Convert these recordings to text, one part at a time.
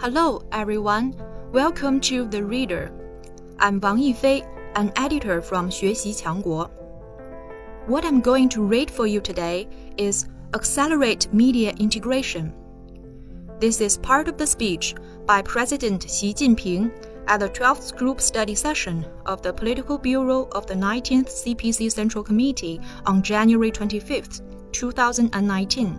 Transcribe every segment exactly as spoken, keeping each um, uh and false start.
Hello, everyone. Welcome to The Reader. I'm Wang Yifei, an editor from 学习强国. What I'm going to read for you today is Accelerate Media Integration. This is part of the speech by President Xi Jinping at the twelfth Group Study Session of the Political Bureau of the nineteenth C P C Central Committee on January twenty-fifth, two thousand nineteen.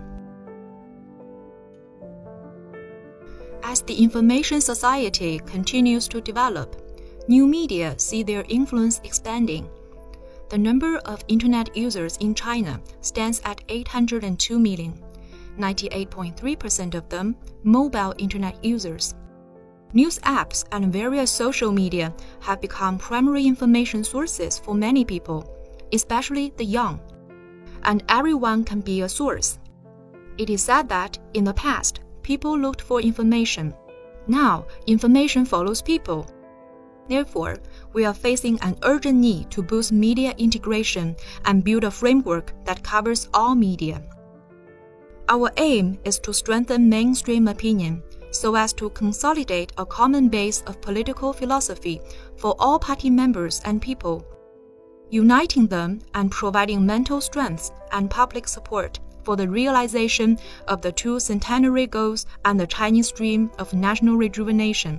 As the information society continues to develop, new media see their influence expanding. The number of Internet users in China stands at eight hundred two million, ninety-eight point three percent of them mobile Internet users. News apps and various social media have become primary information sources for many people, especially the young. And everyone can be a source. It is said that in the past, people looked for information. Now, information follows people. Therefore, we are facing an urgent need to boost media integration and build a framework that covers all media. Our aim is to strengthen mainstream opinion so as to consolidate a common base of political philosophy for all party members and people, uniting them and providing mental strength and public support for the realization of the two centenary goals and the Chinese dream of national rejuvenation.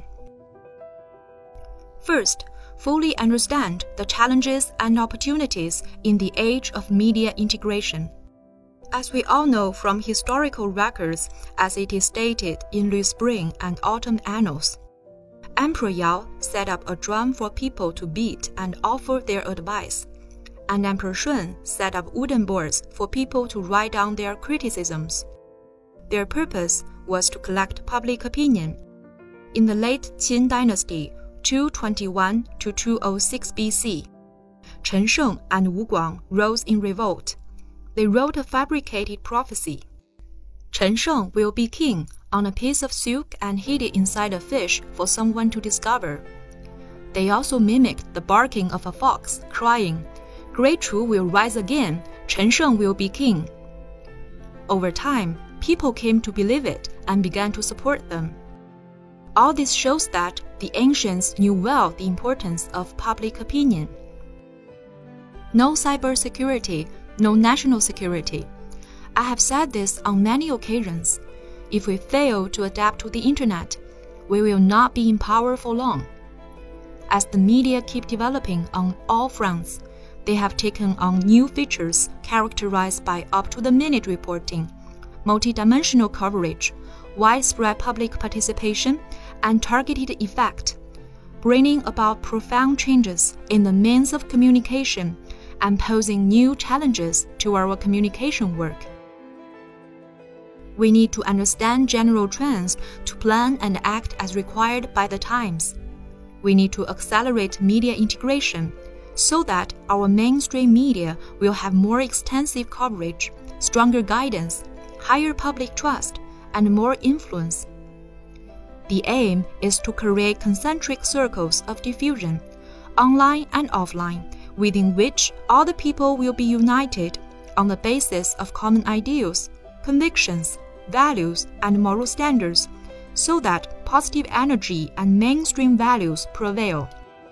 First, fully understand the challenges and opportunities in the age of media integration. As we all know from historical records, as it is stated in Lu Spring and Autumn Annals, Emperor Yao set up a drum for people to beat and offer their advice, and Emperor Shun set up wooden boards for people to write down their criticisms. Their purpose was to collect public opinion. In the late Qin dynasty, two twenty-one to two oh six B C, Chen Sheng and Wu Guang rose in revolt. They wrote a fabricated prophecy. Chen Sheng will be king on a piece of silk and hid it inside a fish for someone to discover. They also mimicked the barking of a fox, crying, "Great Chu will rise again, Chen Sheng will be king." Over time, people came to believe it and began to support them. All this shows that the ancients knew well the importance of public opinion. No cybersecurity, no national security. I have said this on many occasions. If we fail to adapt to the Internet, we will not be in power for long. As the media keep developing on all fronts, they have taken on new features characterized by up-to-the-minute reporting, multidimensional coverage, widespread public participation, and targeted effect, bringing about profound changes in the means of communication and posing new challenges to our communication work. We need to understand general trends to plan and act as required by the times. We need to accelerate media integration so that our mainstream media will have more extensive coverage, stronger guidance, higher public trust, and more influence. The aim is to create concentric circles of diffusion, online and offline, within which all the people will be united on the basis of common ideals, convictions, values, and moral standards, so that positive energy and mainstream values prevail.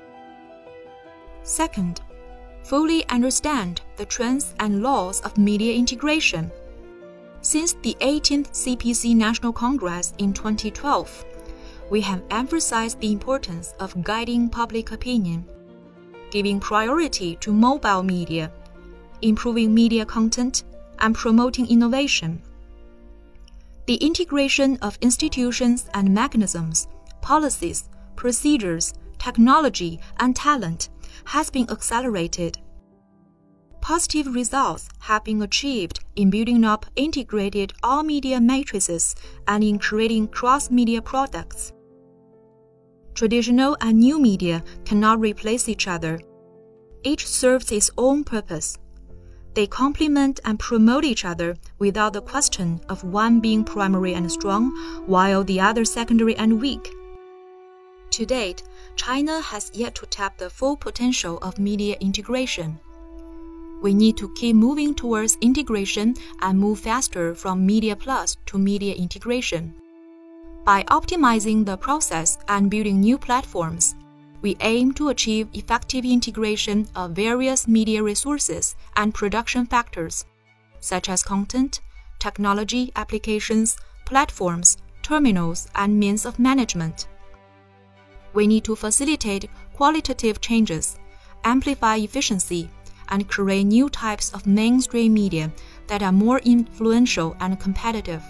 Second, fully understand the trends and laws of media integration. Since the eighteenth C P C National Congress in twenty twelve, we have emphasized the importance of guiding public opinion, giving priority to mobile media, improving media content, and promoting innovation. The integration of institutions and mechanisms, policies, procedures, technology, and talent has been accelerated. Positive results have been achieved in building up integrated all-media matrices and in creating cross-media products. Traditional and new media cannot replace each other. Each serves its own purpose. They complement and promote each other without the question of one being primary and strong, while the other secondary and weak. To date, China has yet to tap the full potential of media integration. We need to keep moving towards integration and move faster from Media Plus to media integration. By optimizing the process and building new platforms, we aim to achieve effective integration of various media resources and production factors, such as content, technology applications, platforms, terminals, and means of management. We need to facilitate qualitative changes, amplify efficiency, and create new types of mainstream media that are more influential and competitive.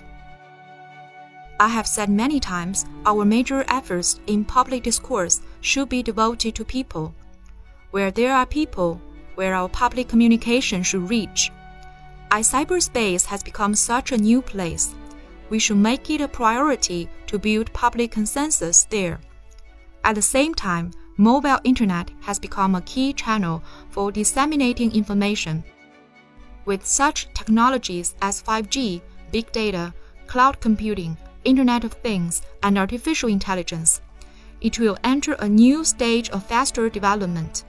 I have said many times, our major efforts in public discourse should be devoted to people. Where there are people, where our public communication should reach. As cyberspace has become such a new place, we should make it a priority to build public consensus there. At the same time, mobile internet has become a key channel for disseminating information. With such technologies as five G, big data, cloud computing, Internet of Things, and artificial intelligence, it will enter a new stage of faster development.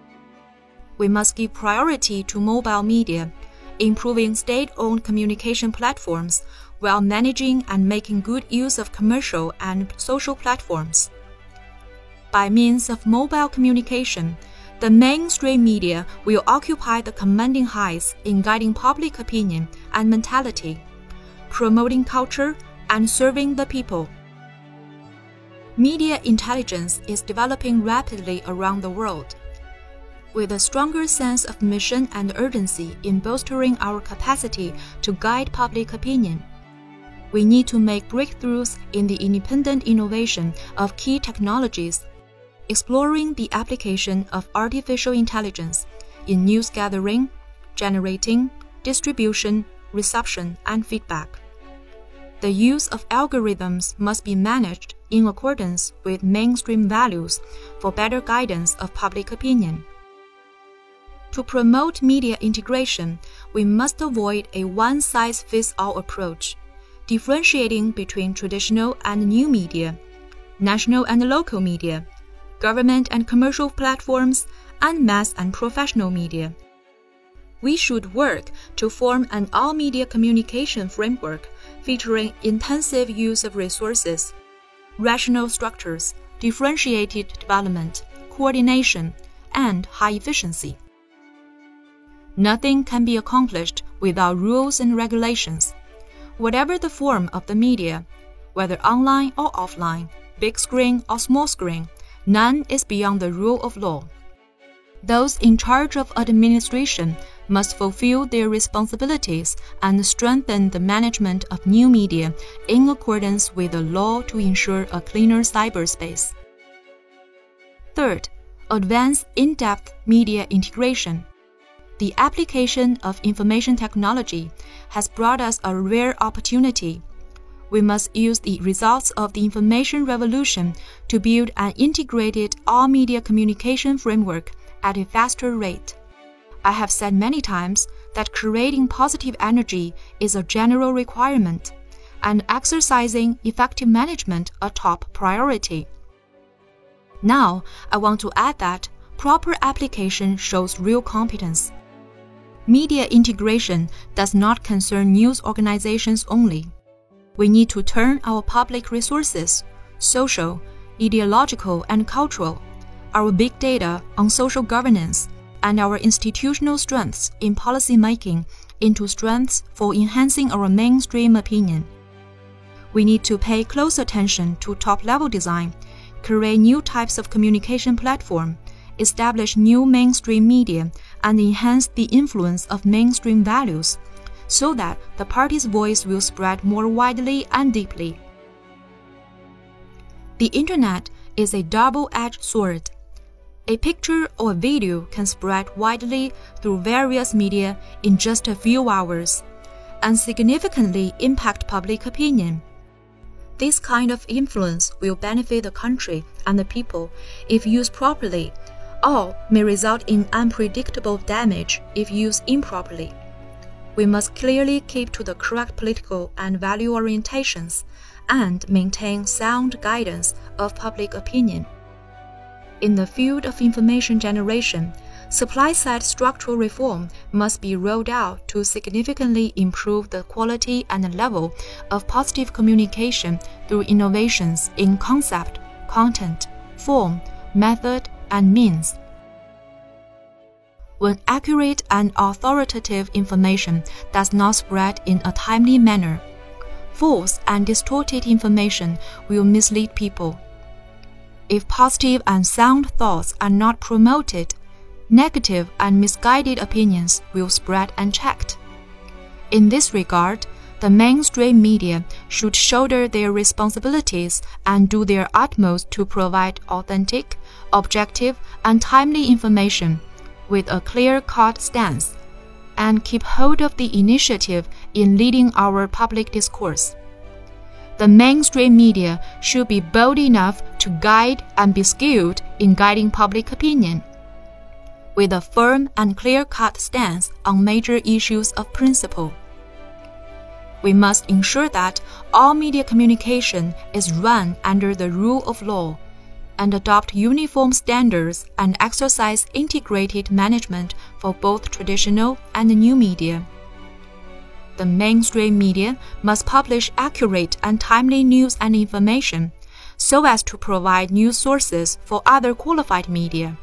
We must give priority to mobile media, improving state-owned communication platforms while managing and making good use of commercial and social platforms. By means of mobile communication, the mainstream media will occupy the commanding heights in guiding public opinion and mentality, promoting culture, and serving the people. Media intelligence is developing rapidly around the world. With a stronger sense of mission and urgency in bolstering our capacity to guide public opinion, we need to make breakthroughs in the independent innovation of key technologies, exploring the application of artificial intelligence in news gathering, generating, distribution, reception, and feedback. The use of algorithms must be managed in accordance with mainstream values for better guidance of public opinion. To promote media integration, we must avoid a one-size-fits-all approach, differentiating between traditional and new media, national and local media, government and commercial platforms, and mass and professional media. We should work to form an all-media communication framework featuring intensive use of resources, rational structures, differentiated development, coordination, and high efficiency. Nothing can be accomplished without rules and regulations. Whatever the form of the media, whether online or offline, big screen or small screen, none is beyond the rule of law. Those in charge of administration must fulfill their responsibilities and strengthen the management of new media in accordance with the law to ensure a cleaner cyberspace. Third, advance in-depth media integration. The application of information technology has brought us a rare opportunity. We must use the results of the information revolution to build an integrated all-media communication framework at a faster rate. I have said many times that creating positive energy is a general requirement, and exercising effective management a top priority. Now, I want to add that proper application shows real competence. Media integration does not concern news organizations only. We need to turn our public resources, social, ideological, and cultural, our big data on social governance, and our institutional strengths in policy making into strengths for enhancing our mainstream opinion. We need to pay close attention to top-level design, create new types of communication platform, establish new mainstream media, and enhance the influence of mainstream values, so that the party's voice will spread more widely and deeply. The Internet is a double-edged sword. A picture or video can spread widely through various media in just a few hours, and significantly impact public opinion. This kind of influence will benefit the country and the people if used properly, or may result in unpredictable damage if used improperly. We must clearly keep to the correct political and value orientations and maintain sound guidance of public opinion. In the field of information generation, supply-side structural reform must be rolled out to significantly improve the quality and level of positive communication through innovations in concept, content, form, method, and means. When accurate and authoritative information does not spread in a timely manner, false and distorted information will mislead people. If positive and sound thoughts are not promoted, negative and misguided opinions will spread unchecked. In this regard, the mainstream media should shoulder their responsibilities and do their utmost to provide authentic, objective, and timely information with a clear-cut stance, and keep hold of the initiative in leading our public discourse. The mainstream media should be bold enough to guide and be skilled in guiding public opinion, with a firm and clear-cut stance on major issues of principle. We must ensure that all media communication is run under the rule of law, and adopt uniform standards and exercise integrated management for both traditional and new media. The mainstream media must publish accurate and timely news and information, so as to provide news sources for other qualified media.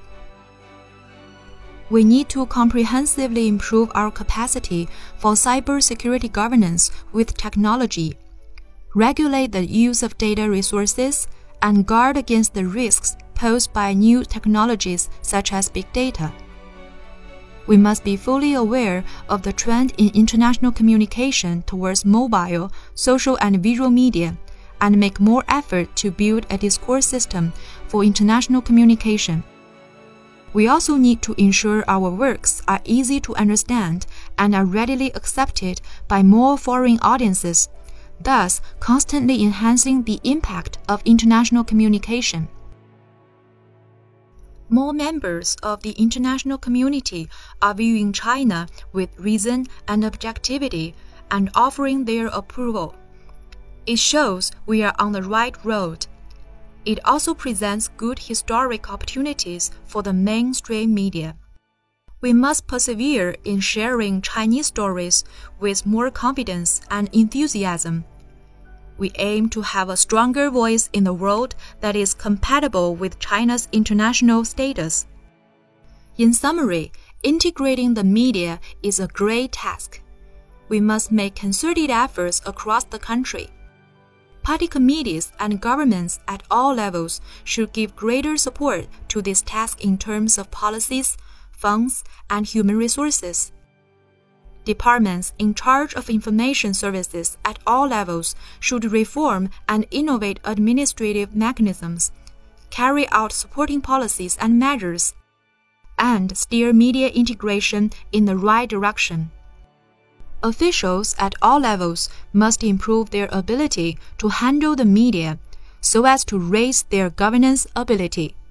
We need to comprehensively improve our capacity for cybersecurity governance with technology, regulate the use of data resources, and guard against the risks posed by new technologies such as big data. We must be fully aware of the trend in international communication towards mobile, social, and visual media, and make more effort to build a discourse system for international communication. We also need to ensure our works are easy to understand and are readily accepted by more foreign audiences, thus constantly enhancing the impact of international communication. More members of the international community are viewing China with reason and objectivity and offering their approval. It shows we are on the right road. It also presents good historic opportunities for the mainstream media. We must persevere in sharing Chinese stories with more confidence and enthusiasm. We aim to have a stronger voice in the world that is compatible with China's international status. In summary, integrating the media is a great task. We must make concerted efforts across the country. Party committees and governments at all levels should give greater support to this task in terms of policies, funds, and human resources. Departments in charge of information services at all levels should reform and innovate administrative mechanisms, carry out supporting policies and measures, and steer media integration in the right direction. Officials at all levels must improve their ability to handle the media so as to raise their governance ability.